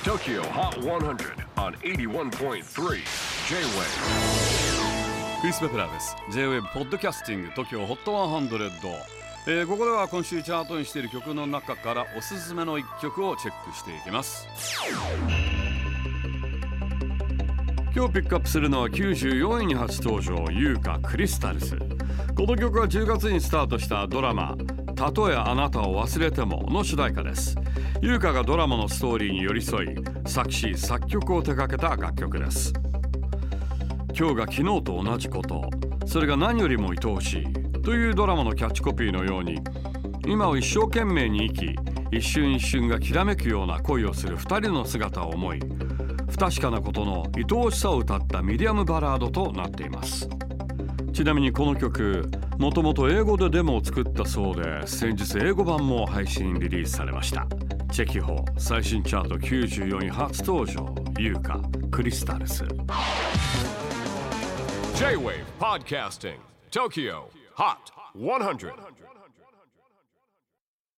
TOKYO HOT 100 on 81.3 J-WAVE クリス・ベプラーです。 J-WAVE ポッドキャスティング TOKYO HOT 100、ここでは今週チャートにしている曲の中からおすすめの一曲をチェックしていきます。今日ピックアップするのは94位に初登場、優香クリスタルス。この曲は10月にスタートしたドラマたとえあなたを忘れてもの主題歌です。優香がドラマのストーリーに寄り添い作詞作曲を手掛けた楽曲です。今日が昨日と同じこと、それが何よりも愛おしいというドラマのキャッチコピーのように、今を一生懸命に生き、一瞬一瞬がきらめくような恋をする二人の姿を思い、不確かなことの愛おしさを歌ったミディアムバラードとなっています。ちなみにこの曲、もともと英語でデモを作ったそうで、先日英語版も配信リリースされました。チェキホー最新チャート94位初登場、優香クリスタルス。 J-WAVE PODCASTING TOKYO HOT 100